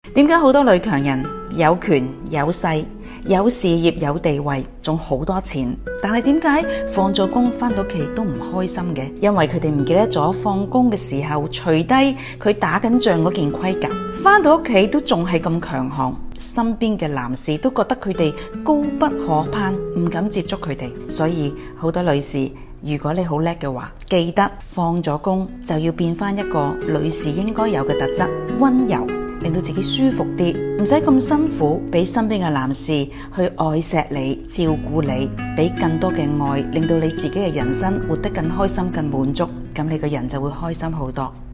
點解好多女強人有權有勢有事業有地位仲好多錢，但係點解放咗工返到屋企都唔開心嘅？因為佢哋唔記得咗放工嘅時候除低佢打緊仗嗰件盔甲，返到屋企都仲係咁強悍，身邊嘅男士都覺得佢哋高不可攀，唔敢接觸佢哋。所以好多女士，如果你好叻嘅話，記得放咗工就要變返一個女士應該有嘅特質，溫柔，令到自己舒服啲，唔使咁辛苦，俾身邊嘅男士去愛錫你、照顧你，俾更多嘅愛，令到你自己嘅人生活得更開心、更滿足，咁你個人就會開心好多。